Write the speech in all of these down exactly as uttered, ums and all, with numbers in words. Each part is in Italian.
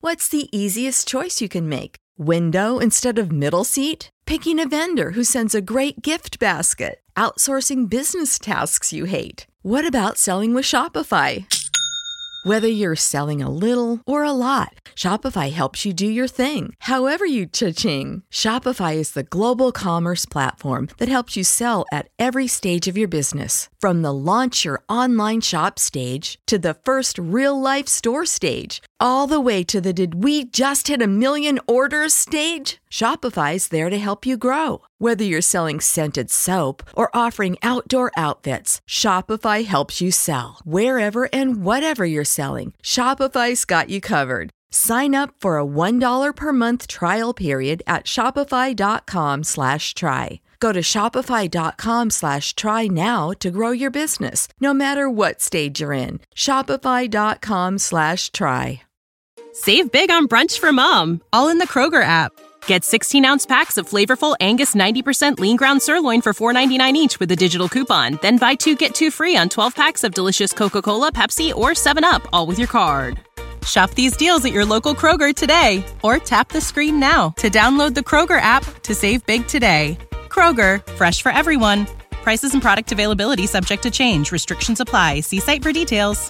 What's the easiest choice you can make? Window instead of middle seat? Picking a vendor who sends a great gift basket? Outsourcing business tasks you hate? What about selling with Shopify? Whether you're selling a little or a lot, Shopify helps you do your thing, however you cha-ching. Shopify is the global commerce platform that helps you sell at every stage of your business. From the launch your online shop stage to the first real-life store stage, all the way to the did we just hit a million orders stage. Shopify's there to help you grow. Whether you're selling scented soap or offering outdoor outfits, Shopify helps you sell. Wherever and whatever you're selling, Shopify's got you covered. Sign up for a one dollar per month trial period at shopify.com slash try. Go to shopify.com slash try now to grow your business, no matter what stage you're in. Shopify.com slash try. Save big on brunch for mom, all in the Kroger app. Get sixteen-ounce packs of flavorful Angus ninety percent lean ground sirloin for four ninety-nine each with a digital coupon. Then buy two, get two free on twelve packs of delicious Coca-Cola, Pepsi, or seven up, all with your card. Shop these deals at your local Kroger today, or tap the screen now to download the Kroger app to save big today. Kroger, fresh for everyone. Prices and product availability subject to change. Restrictions apply. See site for details.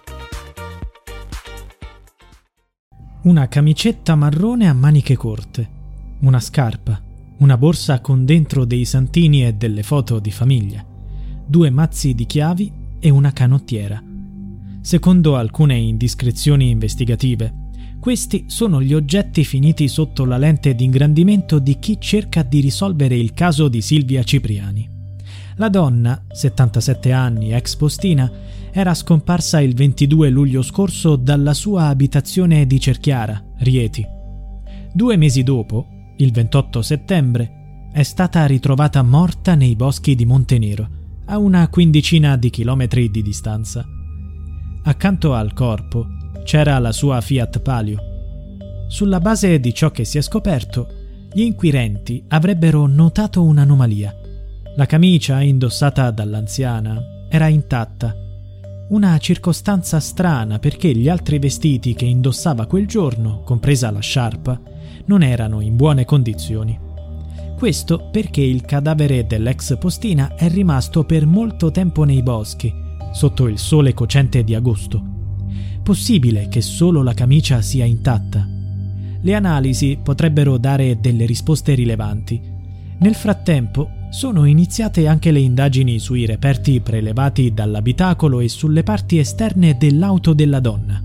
Una camicetta marrone a maniche corte, una scarpa, una borsa con dentro dei santini e delle foto di famiglia, due mazzi di chiavi e una canottiera. Secondo alcune indiscrezioni investigative, questi sono gli oggetti finiti sotto la lente di ingrandimento di chi cerca di risolvere il caso di Silvia Cipriani. La donna, settantasette anni, ex postina, era scomparsa il ventidue luglio scorso dalla sua abitazione di Cerchiara, Rieti. Due mesi dopo, il ventotto settembre, è stata ritrovata morta nei boschi di Montenero, a una quindicina di chilometri di distanza. Accanto al corpo c'era la sua Fiat Palio. Sulla base di ciò che si è scoperto, gli inquirenti avrebbero notato un'anomalia. La camicia indossata dall'anziana era intatta. Una circostanza strana perché gli altri vestiti che indossava quel giorno, compresa la sciarpa, non erano in buone condizioni. Questo perché il cadavere dell'ex postina è rimasto per molto tempo nei boschi, sotto il sole cocente di agosto. Possibile che solo la camicia sia intatta? Le analisi potrebbero dare delle risposte rilevanti. Nel frattempo sono iniziate anche le indagini sui reperti prelevati dall'abitacolo e sulle parti esterne dell'auto della donna.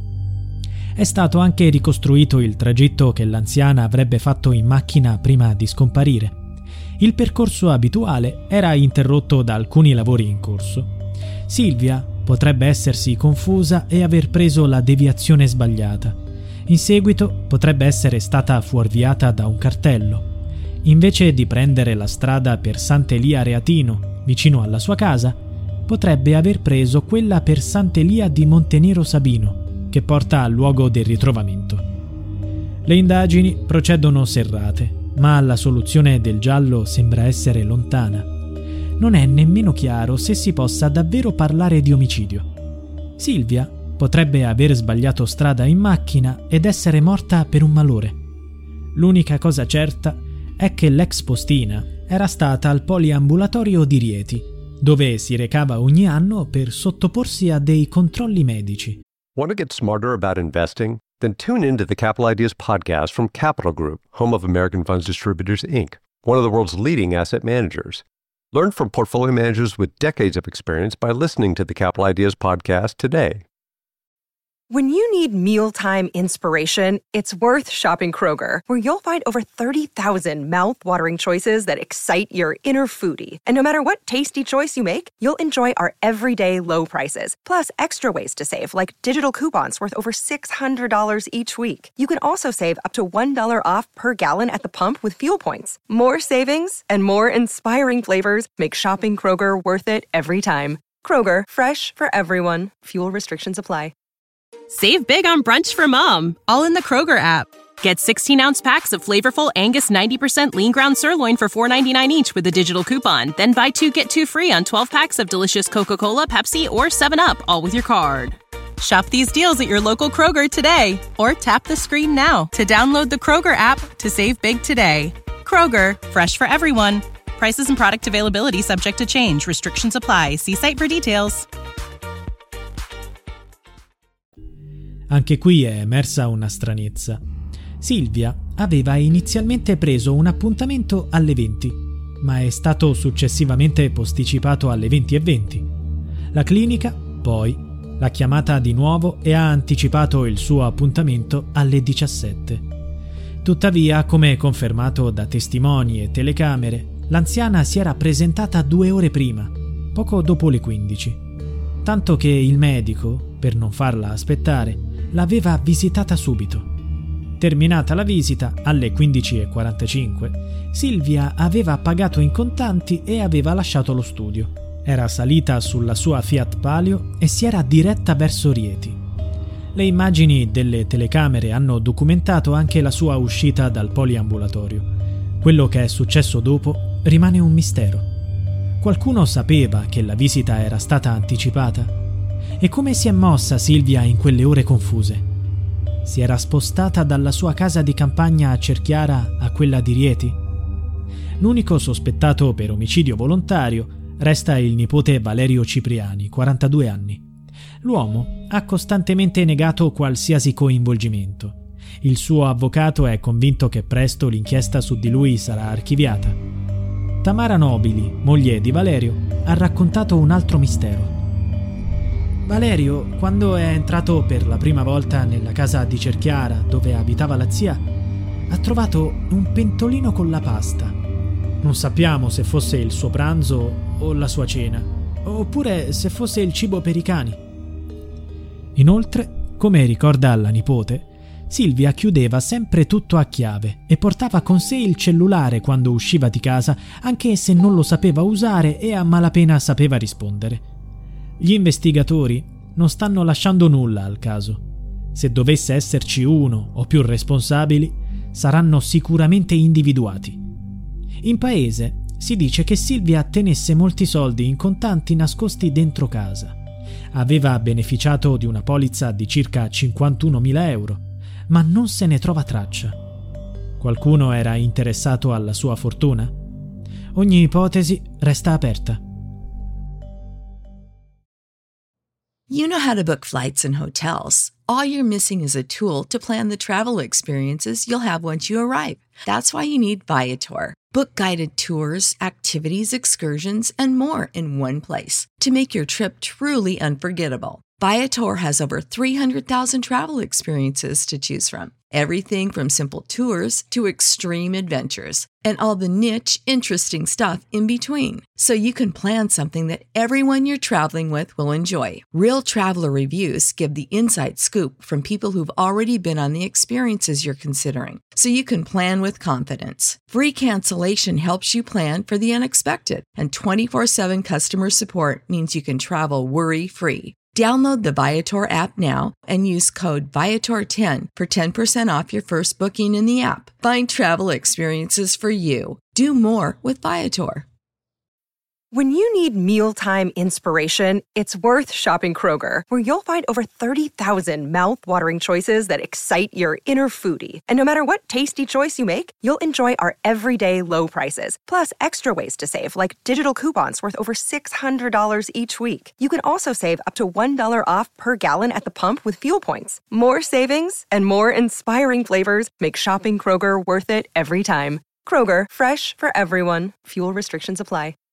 È stato anche ricostruito il tragitto che l'anziana avrebbe fatto in macchina prima di scomparire. Il percorso abituale era interrotto da alcuni lavori in corso. Silvia potrebbe essersi confusa e aver preso la deviazione sbagliata. In seguito potrebbe essere stata fuorviata da un cartello. Invece di prendere la strada per Sant'Elia Reatino, vicino alla sua casa, potrebbe aver preso quella per Sant'Elia di Montenero Sabino, che porta al luogo del ritrovamento. Le indagini procedono serrate, ma la soluzione del giallo sembra essere lontana. Non è nemmeno chiaro se si possa davvero parlare di omicidio. Silvia potrebbe aver sbagliato strada in macchina ed essere morta per un malore. L'unica cosa certa è che l'ex postina era stata al poliambulatorio di Rieti, dove si recava ogni anno per sottoporsi a dei controlli medici. Want to get smarter about investing? Then tune into the Capital Ideas podcast from Capital Group, home of American Funds Distributors, Incorporated, one of the world's leading asset managers. Learn from portfolio managers with decades of experience by listening to the Capital Ideas podcast today. When you need mealtime inspiration, it's worth shopping Kroger, where you'll find over thirty thousand mouth-watering choices that excite your inner foodie. And no matter what tasty choice you make, you'll enjoy our everyday low prices, plus extra ways to save, like digital coupons worth over six hundred dollars each week. You can also save up to one dollar off per gallon at the pump with fuel points. More savings and more inspiring flavors make shopping Kroger worth it every time. Kroger, fresh for everyone. Fuel restrictions apply. Save big on brunch for mom, all in the Kroger app. Get sixteen-ounce packs of flavorful Angus ninety percent lean ground sirloin for four ninety-nine each with a digital coupon. Then buy two, get two free on twelve packs of delicious Coca-Cola, Pepsi, or seven up, all with your card. Shop these deals at your local Kroger today, or tap the screen now to download the Kroger app to save big today. Kroger, fresh for everyone. Prices and product availability subject to change. Restrictions apply. See site for details. Anche qui è emersa una stranezza. Silvia aveva inizialmente preso un appuntamento alle venti, ma è stato successivamente posticipato alle venti e venti. La clinica, poi, l'ha chiamata di nuovo e ha anticipato il suo appuntamento alle diciassette. Tuttavia, come confermato da testimoni e telecamere, l'anziana si era presentata due ore prima, poco dopo le quindici. Tanto che il medico, per non farla aspettare, l'aveva visitata subito. Terminata la visita, alle quindici e quarantacinque, Silvia aveva pagato in contanti e aveva lasciato lo studio. Era salita sulla sua Fiat Palio e si era diretta verso Rieti. Le immagini delle telecamere hanno documentato anche la sua uscita dal poliambulatorio. Quello che è successo dopo rimane un mistero. Qualcuno sapeva che la visita era stata anticipata? E come si è mossa Silvia in quelle ore confuse? Si era spostata dalla sua casa di campagna a Cerchiara a quella di Rieti? L'unico sospettato per omicidio volontario resta il nipote Valerio Cipriani, quarantadue anni. L'uomo ha costantemente negato qualsiasi coinvolgimento. Il suo avvocato è convinto che presto l'inchiesta su di lui sarà archiviata. Tamara Nobili, moglie di Valerio, ha raccontato un altro mistero. Valerio, quando è entrato per la prima volta nella casa di Cerchiara, dove abitava la zia, ha trovato un pentolino con la pasta. Non sappiamo se fosse il suo pranzo o la sua cena, oppure se fosse il cibo per i cani. Inoltre, come ricorda la nipote, Silvia chiudeva sempre tutto a chiave e portava con sé il cellulare quando usciva di casa, anche se non lo sapeva usare e a malapena sapeva rispondere. Gli investigatori non stanno lasciando nulla al caso. Se dovesse esserci uno o più responsabili, saranno sicuramente individuati. In paese si dice che Silvia tenesse molti soldi in contanti nascosti dentro casa. Aveva beneficiato di una polizza di circa cinquantunomila euro, ma non se ne trova traccia. Qualcuno era interessato alla sua fortuna? Ogni ipotesi resta aperta. You know how to book flights and hotels. All you're missing is a tool to plan the travel experiences you'll have once you arrive. That's why you need Viator. Book guided tours, activities, excursions, and more in one place to make your trip truly unforgettable. Viator has over three hundred thousand travel experiences to choose from. Everything from simple tours to extreme adventures and all the niche, interesting stuff in between. So you can plan something that everyone you're traveling with will enjoy. Real traveler reviews give the inside scoop from people who've already been on the experiences you're considering. So you can plan with confidence. Free cancellation helps you plan for the unexpected. And twenty-four seven customer support means you can travel worry-free. Download the Viator app now and use code Viator ten for ten percent off your first booking in the app. Find travel experiences for you. Do more with Viator. When you need mealtime inspiration, it's worth shopping Kroger, where you'll find over thirty thousand mouth-watering choices that excite your inner foodie. And no matter what tasty choice you make, you'll enjoy our everyday low prices, plus extra ways to save, like digital coupons worth over six hundred dollars each week. You can also save up to one dollar off per gallon at the pump with fuel points. More savings and more inspiring flavors make shopping Kroger worth it every time. Kroger, fresh for everyone. Fuel restrictions apply.